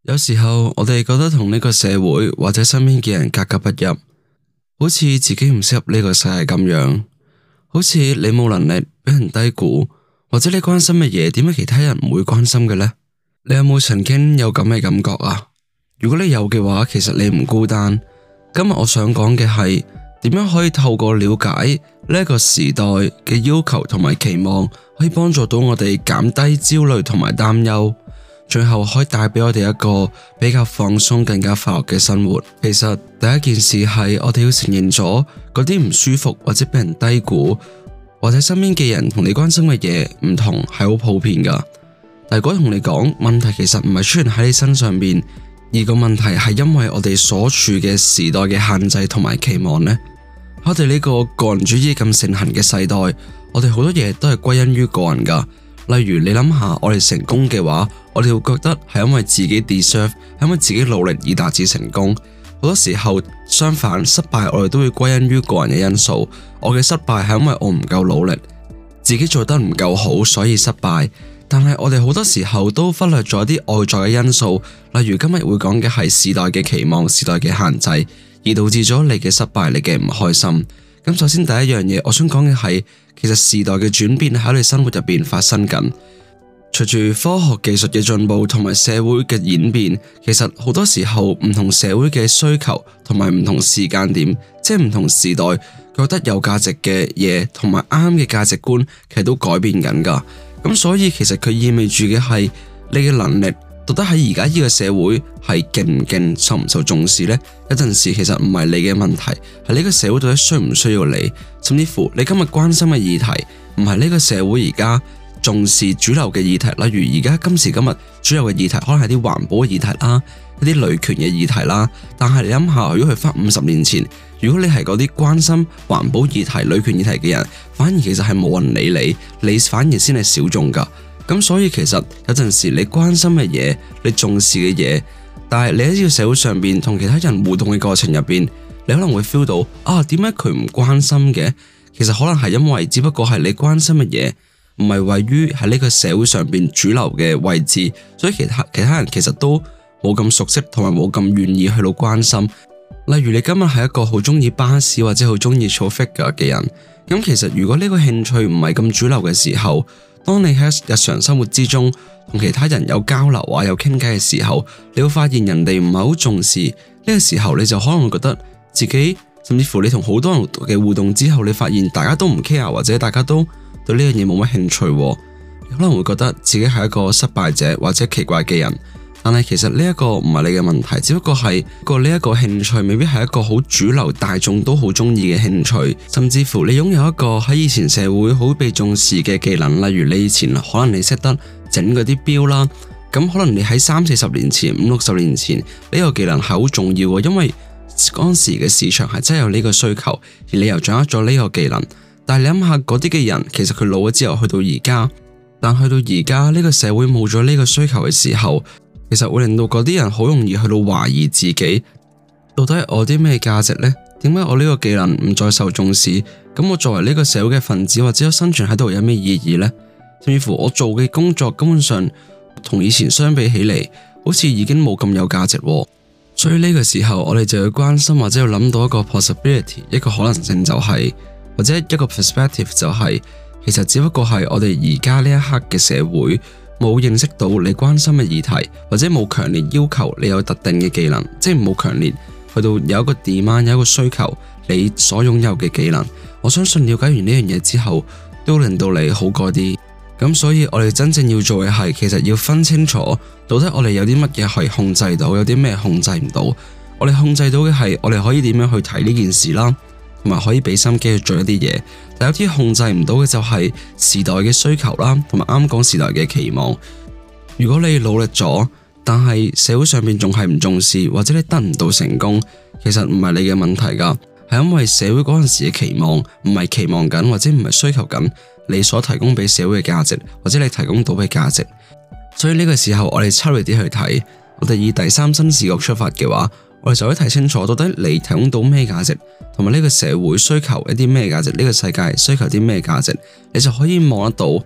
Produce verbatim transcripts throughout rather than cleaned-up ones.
有時候我哋覺得同呢個社會或者身邊嘅人格格不入，好似自己唔適合呢個世界咁樣，好似你冇能力俾人低估，或者你關心嘅嘢點解其他人唔會關心嘅呢？你有冇曾經有咁嘅感覺啊？如果你有嘅話，其實你唔孤單。今日我想講嘅係點樣可以透過了解呢個時代嘅要求同埋期望，可以幫助到我哋減低焦慮同埋擔憂，最後可以帶俾我哋一個比較放鬆、更加快樂嘅生活。其實第一件事係我哋要承認咗嗰啲唔舒服或者俾人低估，或者身邊嘅人同你關心嘅嘢唔同，係好普遍噶。但如果同你講問題，其實唔係出現喺你身上邊，而個問題係因為我哋所處嘅時代嘅限制同埋期望呢。我哋呢個個人主義咁盛行嘅世代，我哋好多嘢都係歸因於個人噶。例如你諗下，我哋成功嘅話，我哋會覺得係因為自己 deserve， 係因為自己努力而達至成功。好多時候相反，失敗我哋都會歸因於個人嘅因素。我嘅失敗係因為我唔夠努力，自己做得唔夠好，所以失敗。但係我哋好多時候都忽略咗啲外在嘅因素，例如今日會講嘅係時代嘅期望、時代嘅限制，而導致咗你嘅失敗、你嘅唔開心。咁首先第一樣嘢，我想講嘅係，其實時代嘅轉變喺你生活入邊發生緊。隨住科學技術嘅進步同埋社會嘅演變，其實好多時候唔同社會嘅需求同埋唔同時間點，即係唔同時代覺得有價值嘅嘢同埋啱嘅價值觀，其實都改變緊噶。咁所以其實佢意味住嘅係你嘅能力到底喺而家呢個社會係勁唔勁，受唔受重視呢？有陣時其實唔係你嘅問題，係呢個社會到底需唔需要你，甚至乎你今日關心嘅議題唔係呢個社會而家重視主流嘅議題。例如而家今時今日主流嘅議題可能係啲環保嘅議題啦，一啲女權嘅議題啦。但係你諗下，如果佢翻五十年前，如果你係嗰啲關心環保議題、女權議題嘅人，反而其實係冇人理你，你反而先係小眾噶。咁所以其實有陣時你關心嘅嘢，你重視嘅嘢，但係你喺呢個社會上邊同其他人互動嘅過程入邊，你可能會 feel 到啊，點解佢唔關心嘅？其實可能係因為只不過係你關心嘅嘢唔係位於喺呢個社會上邊主流嘅位置，所以其他其他人其實都冇咁熟悉同埋冇咁願意去到關心。例如你今日係一個好中意巴士或者好中意儲 figure 嘅人，咁其實如果呢個興趣唔係咁主流嘅時候，當你喺日常生活之中同其他人有交流啊，有傾偈嘅時候，你會發現人哋唔係好重視呢個時候，你就可能會覺得自己，甚至乎你同好多人嘅互動之後，你發現大家都唔 care 或者大家都對呢樣嘢冇乜興趣，你可能會覺得自己係一個失敗者或者奇怪嘅人。但係其實呢一個唔係你嘅問題，只不過係個呢一個興趣未必係一個好主流大眾都好中意嘅興趣，甚至乎你擁有一個喺以前社會好被重視嘅技能，例如你以前可能你識得整嗰啲錶啦，咁可能你喺三四十年前、五六十年前呢個技能係好重要嘅，因為當時嘅市場係真係有呢個需求，而你又掌握咗呢個技能。但係你諗下嗰啲嘅人，其實佢老咗之後去到而家，但去到而家呢個社會冇咗呢個需求嘅時候，其實會令到嗰啲人好容易去到懷疑自己，到底係我啲咩價值呢？點解我呢個技能唔再受重視？咁我作為呢個社會嘅分子或者我生存喺度有咩意義呢？甚至乎我做嘅工作根本上同以前相比起嚟，好似已經冇咁有價值。所以呢個時候我哋就要關心或者要諗到一個 possibility， 一個可能性就係，或者一個 perspective 就係，其實只不過係我哋而家呢一刻嘅社會冇認識到你關心嘅議題，或者冇強烈要求你有特定嘅技能，即係冇強烈去到有一個 demand， 有一個需求你所擁有嘅技能。我相信了解完呢樣嘢之後，都令到你好過啲。咁所以我哋真正要做嘅係，其實要分清楚到底我哋有啲乜嘢可以控制到，有啲咩控制唔到。我哋控制到嘅係，我哋可以點樣去睇呢件事啦，同埋可以俾心機去做一啲嘢。但有啲控制唔到嘅就係時代嘅需求啦，同埋啱講時代嘅期望。如果你努力咗，但係社會上面仲係唔重視，或者你得唔到成功，其實唔係你嘅問題噶，係因為社會嗰陣時嘅期望唔係期望緊，或者唔係需求緊你所提供俾社會嘅價值，或者你提供到嘅價值。所以呢個時候我哋抽離啲去睇，我哋以第三身視角出發嘅話，我哋就可以睇清楚到底你提供到咩價值，同埋呢個社會需求一啲咩價值，呢個世界需求啲咩價值，你就可以望得到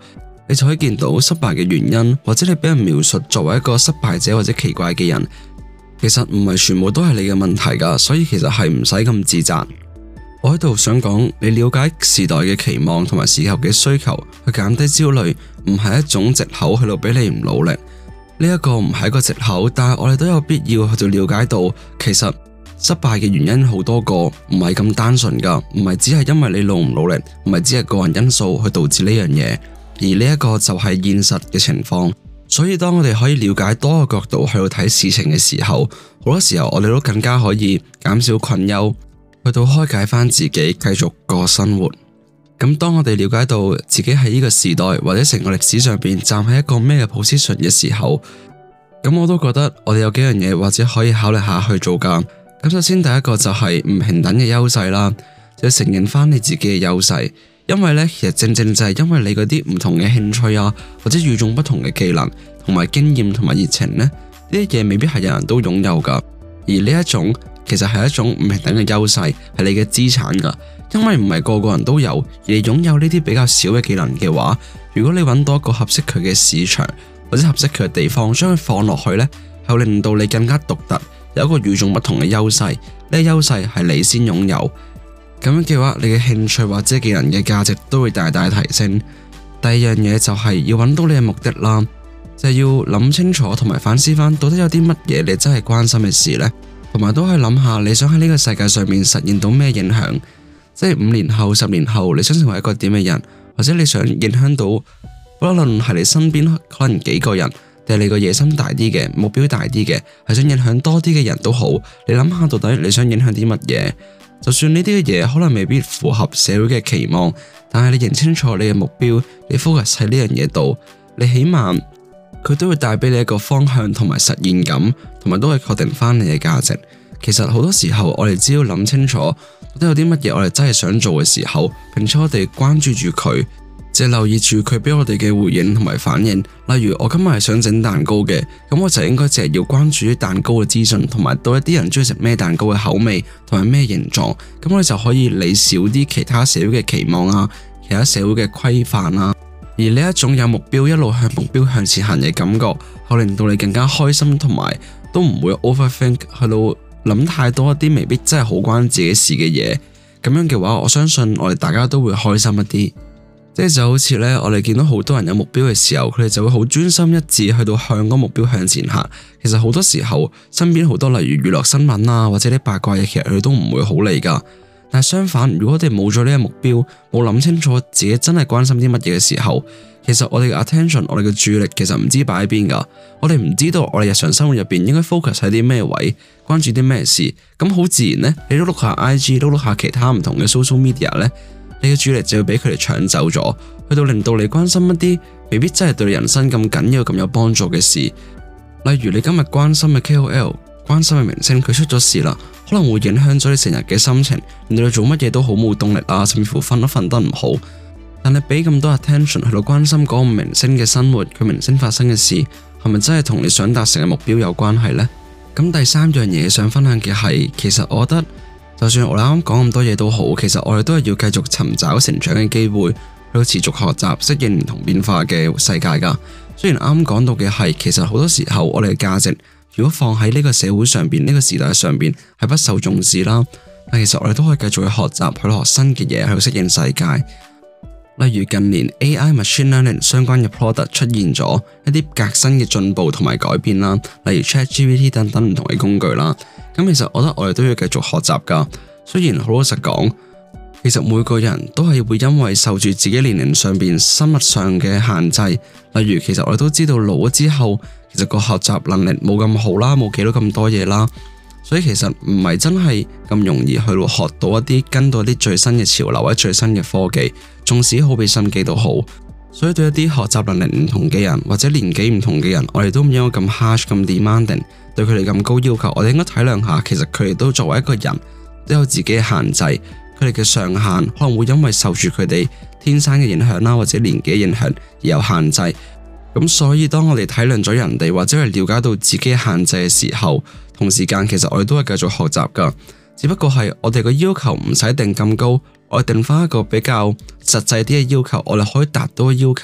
你就可以見到失敗嘅原因，或者你俾人描述作為一個失敗者或者奇怪嘅人，其實唔係全部都係你嘅問題噶，所以其實係唔使咁自責。我喺度想講，你了解時代嘅期望同埋時候嘅需求，去減低焦慮，唔係一種藉口去到俾你唔努力。呢一個唔係一個藉口，但係我哋都有必要去到了解到，其實失敗嘅原因好多個，唔係咁單純噶，唔係只係因為你努唔努力，唔係只係個人因素去導致呢樣嘢，而呢一個就係現實嘅情況。所以當我哋可以了解多個角度去到睇事情嘅時候，好多時候我哋都更加可以減少困憂，去到開解翻自己，繼續過生活。咁當我哋了解到自己喺呢個時代或者成個歷史上邊站喺一個咩嘅 position 嘅時候，咁我都覺得我哋有幾樣嘢或者可以考慮下去做噶。咁首先第一個就係唔平等嘅優勢啦，就承認翻你自己嘅優勢，因為呢，其實正正就係因為你嗰啲唔同嘅興趣啊，或者與眾不同嘅技能同埋經驗同埋熱情呢，呢啲嘢未必係人人都擁有噶，而呢一種其實係一種唔平等嘅優勢，係你嘅資產噶。因為唔係個個人都有，而你擁有呢啲比較少嘅技能嘅話，如果你揾到一個合適佢嘅市場或者合適佢嘅地方，將佢放落去呢，係會令到你更加獨特，有一個與眾不同嘅優勢。呢個優勢係你先擁有，咁樣嘅話，你嘅興趣或者技能嘅價值都會大大提升。第二樣嘢就係要揾到你嘅目的啦，就係要諗清楚同埋反思翻，到底有啲乜嘢你真係關心嘅事呢？同埋都可以諗下你想喺呢個世界上面實現到咩影響。即係五年後、十年後，你想成為一個點嘅人，或者你想影響到，不論係你身邊可能幾個人，定係你個野心大啲嘅、目標大啲嘅，係想影響多啲嘅人都好。你諗下到底你想影響啲乜嘢？就算呢啲嘅嘢可能未必符合社會嘅期望，但係你認清楚你嘅目標，你 focus 喺呢樣嘢度，你起碼佢都會帶俾你一個方向同埋實現感，同埋都會確定翻你嘅價值。其實好多時候我哋只要諗清楚都有啲乜嘢我哋真係想做嘅時候，並且我哋關注住佢，即係留意住佢俾我哋嘅回應同埋反應。例如我今日係想整蛋糕嘅，咁我就應該淨係要關注啲蛋糕嘅資訊，同埋到一啲人中意食咩蛋糕嘅口味同埋咩形狀，咁我哋就可以理少啲其他社會嘅期望啊，其他社會嘅規範啊。而呢一種有目標一路向目標向前行嘅感覺，可令到你更加開心，同埋都唔會 overthink 去到諗太多一啲未必真係好關自己事嘅嘢。咁樣嘅話，我相信我哋大家都會開心一啲。即係就好似呢，我哋見到好多人有目標嘅時候，佢哋就會好專心一致去到向嗰個目標向前行。其實好多時候身邊好多例如娛樂新聞啊，或者啲八卦嘢，其實佢哋都唔會好理噶。但係相反，如果我哋冇咗呢個目標，冇諗清楚自己真係關心啲乜嘢嘅時候，其實我哋嘅 attention， 我哋嘅注意力其實唔知擺喺邊噶。我哋唔知道我哋日常生活入邊應該 focus 喺啲咩位，關注啲咩事。咁好自然呢，你都碌下 I G， 都碌下其他唔同嘅 social media 呢，你嘅注意力就會俾佢哋搶走咗，去到令到你關心一啲未必真係對你人生咁緊要、咁有幫助嘅事。例如你今日關心嘅 K O L， 關心嘅明星佢出咗事啦，可能會影響咗你成日嘅心情，令到你做乜嘢都好冇動力啊，甚至乎瞓都瞓得唔好。但你俾咁多 attention 去到關心嗰個明星嘅生活，佢明星發生嘅事，係咪真係同你想達成嘅目標有關係呢？咁第三樣嘢想分享嘅係，其實我覺得就算我哋啱啱講咁多嘢都好，其實我哋都係要繼續尋找成長嘅機會，去到持續學習適應唔同變化嘅世界噶。雖然啱啱講到嘅係，其實好多時候我哋嘅價值如果放喺呢個社會上邊、呢個時代上邊係不受重視啦，但其實我哋都可以繼續去學習，去學新嘅嘢，去適應世界。例如近年 A I Machine Learning 相關嘅 product 出現咗一啲革新嘅進步同埋改變啦，例如 ChatGPT 等等唔同嘅工具啦。咁其實我覺得我哋都要繼續學習噶。雖然好老實講，其實每個人都係會因為受住自己年齡上邊生物上嘅限制，例如其實我哋都知道老咗之後，其實個學習能力冇咁好啦，冇記到咁多嘢啦。所以其實唔係真係咁容易去學到一啲跟到一啲最新嘅潮流或者最新嘅科技，縱使好俾心機都好。所以對一啲學習能力唔同嘅人或者年紀唔同嘅人，我哋都唔應該咁 harsh 咁 demanding， 對佢哋咁高要求。我哋應該體諒下，其實佢哋都作為一個人都有自己嘅限制，佢哋嘅上限可能會因為受住佢哋天生嘅影響啦，或者年紀影響而有限制。咁所以當我哋體諒咗人哋，或者係了解到自己嘅限制嘅時候，同時間其實我哋都係繼續學習噶，只不過係我哋個要求唔使定咁高，我哋定翻一個比較實際啲嘅要求，我哋可以達到嘅要求。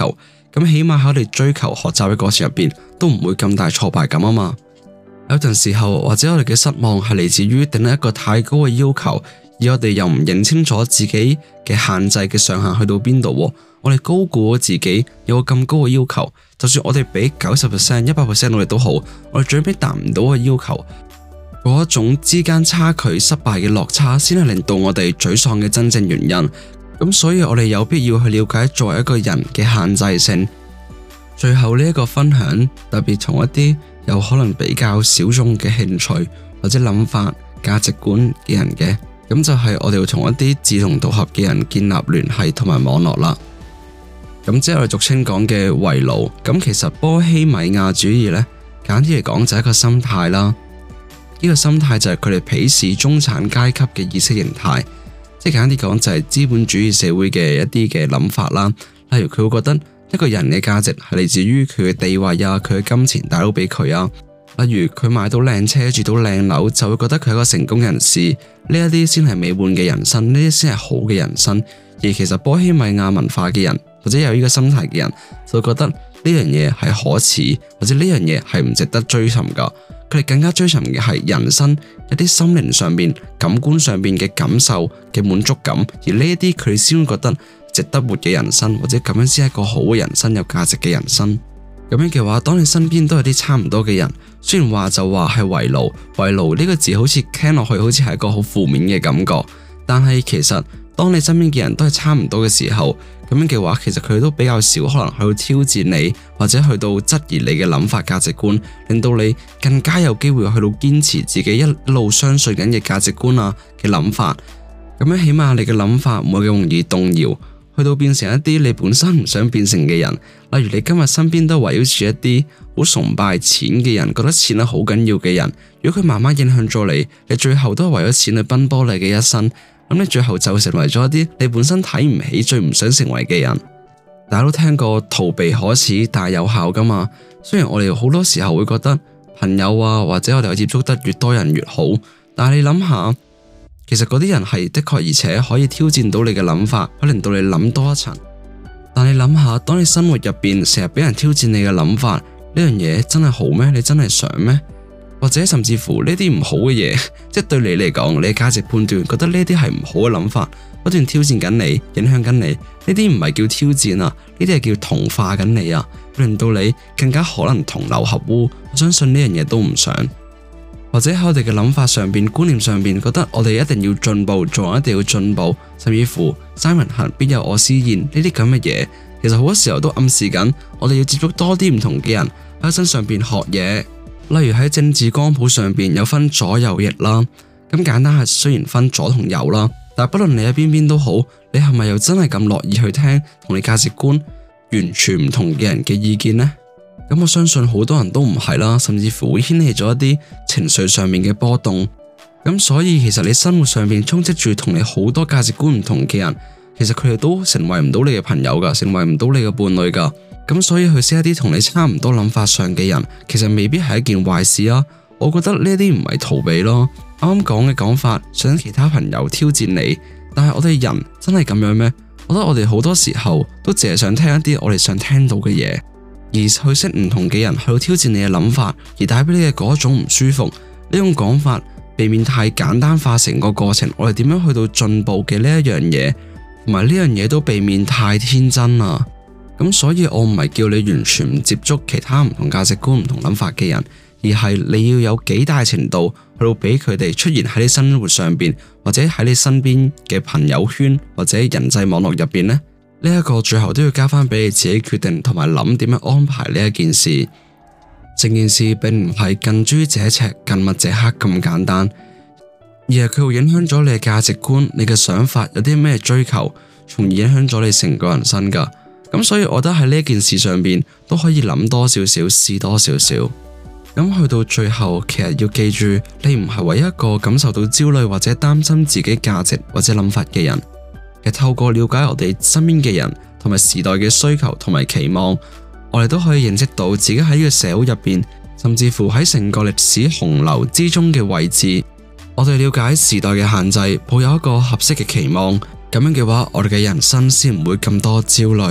咁起碼喺我哋追求學習嘅過程入邊，都唔會咁大挫敗感啊嘛。有陣時候或者我哋嘅失望係嚟自於定一個太高嘅要求，而我哋又唔認清楚自己嘅限制嘅上限去到邊度。我哋高估咗自己有個咁高嘅要求，就算我哋俾九十 percent、一百 percent 努力都好，我哋最尾達唔到嘅要求，嗰一種之間差距、失敗嘅落差，先係令到我哋沮喪嘅真正原因。咁所以我哋有必要去了解作為一個人嘅限制性。最後呢一個分享，特別從一啲有可能比較小眾嘅興趣或者諗法、價值觀嘅人嘅，咁就係我哋要同一啲志同道合嘅人建立聯繫同埋網絡啦。咁即係我哋俗稱講嘅圍爐。咁其實波希米亞主義呢，簡啲嚟講就係一個心態啦。呢個心態就係佢哋鄙視中產階級嘅意識形態，即係簡單啲講就係資本主義社會嘅一啲嘅諗法啦。例如佢會覺得一個人嘅價值係嚟自於佢嘅地位啊，佢嘅金錢帶到俾佢啊。例如佢買到靚車、住到靚樓，就會覺得佢係一個成功人士。呢一啲先係美滿嘅人生，呢啲先係好嘅人生。而其實波希米亞文化嘅人，或者有呢個心態嘅人，就會覺得呢樣嘢係可恥，或者呢樣嘢係唔值得追尋噶。佢哋更加追尋嘅係人生一啲心靈上邊、感官上邊嘅感受嘅滿足感，而呢一啲佢哋先會覺得值得活嘅人生，或者咁樣先係一個好嘅人生、有價值嘅人生。咁樣嘅話，當你身邊都有啲差唔多嘅人，雖然話就話係圍爐，圍爐呢個字好似聽落去好似係一個好負面嘅感覺，但係其實當你身邊嘅人都係差唔多嘅時候，咁樣嘅話，其實佢都比較少可能去到挑戰你，或者去到質疑你嘅諗法、價值觀，令到你更加有機會去到堅持自己一路相信緊嘅價值觀啊嘅諗法。咁樣起碼你嘅諗法唔會咁容易動搖，去到變成一啲你本身唔想變成嘅人。例如你今日身邊都圍繞住一啲好崇拜錢嘅人，覺得錢係好緊要嘅人。如果佢慢慢影響咗你，你最後都係為咗錢去奔波你嘅一生。咁你最後就成為咗一啲你本身睇唔起、最唔想成為嘅人。大家都聽過逃避可恥，但係有效噶嘛？雖然我哋好多時候會覺得朋友啊，或者我哋接觸得越多人越好，但係你諗下，其實嗰啲人係的確而且可以挑戰到你嘅諗法，可以令到你諗多一層。但你諗下，當你生活入邊成日俾人挑戰你嘅諗法，呢樣嘢真係好咩？你真係想咩？或者甚至乎呢啲唔好嘅嘢，即係對你嚟講，你嘅價值判斷覺得呢啲係唔好嘅諗法，不斷挑戰緊你，影響緊你，呢啲唔係叫挑戰啊，呢啲係叫同化緊你啊，令到你更加可能同流合污。我相信呢樣嘢都唔想。或者喺我哋嘅諗法上邊、觀念上邊，覺得我哋一定要進步，做人一定要進步，甚至乎三人行必有我師焉呢啲咁嘅嘢，其實好多時候都暗示緊我哋要接觸多啲唔同嘅人，喺身上邊學嘢。例如喺政治光譜上邊有分左右翼啦，咁簡單係雖然分左同右啦，但係不論你喺邊邊都好，你係咪又真係咁樂意去聽同你價值觀完全唔同嘅人嘅意見呢？咁我相信好多人都唔係啦，甚至乎會掀起咗一啲情緒上面嘅波動。咁所以其實你生活上面充斥住同你好多價值觀唔同嘅人，其實佢哋都成為唔到你嘅朋友噶，成為唔到你嘅伴侶噶。咁所以去識一啲同你差唔多諗法上嘅人，其實未必係一件壞事啊。我覺得呢啲唔係逃避咯。啱啱講嘅講法，想其他朋友挑戰你，但係我哋人真係咁樣咩？我覺得我哋好多時候都淨係想聽一啲我哋想聽到嘅嘢，而去識唔同嘅人去到挑戰你嘅諗法，而帶俾你嘅嗰種唔舒服。呢種講法避免太簡單化成個過程，我哋點樣去到進步嘅呢一樣嘢，同埋呢樣嘢都避免太天真啊。咁所以我唔係叫你完全唔接觸其他唔同價值觀、唔同諗法嘅人，而係你要有幾大程度去到俾佢哋出現喺你生活上邊，或者喺你身邊嘅朋友圈或者人際網絡入邊呢。呢一個最後都要交翻俾你自己決定，同埋諗點樣安排呢一件事。整件事並唔係近朱者赤、近墨者黑咁簡單，而係佢會影響咗你嘅價值觀、你嘅想法有啲咩追求，從而影響咗你成個人生噶。咁所以我覺得喺呢件事上邊都可以諗多少少，試多少少。咁去到最後，其實要記住，你唔係唯一一個感受到焦慮或者擔心自己價值或者諗法嘅人。其實透過了解我哋身邊嘅人同埋時代嘅需求同埋期望，我哋都可以認識到自己喺呢個社會入邊，甚至乎喺成個歷史洪流之中嘅位置。我哋了解時代嘅限制，抱有一個合適嘅期望，咁樣嘅話，我哋嘅人生先唔會咁多焦慮。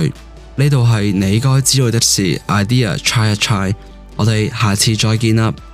呢度係你該知道的事 idea try 一 try，我哋下次再見啦。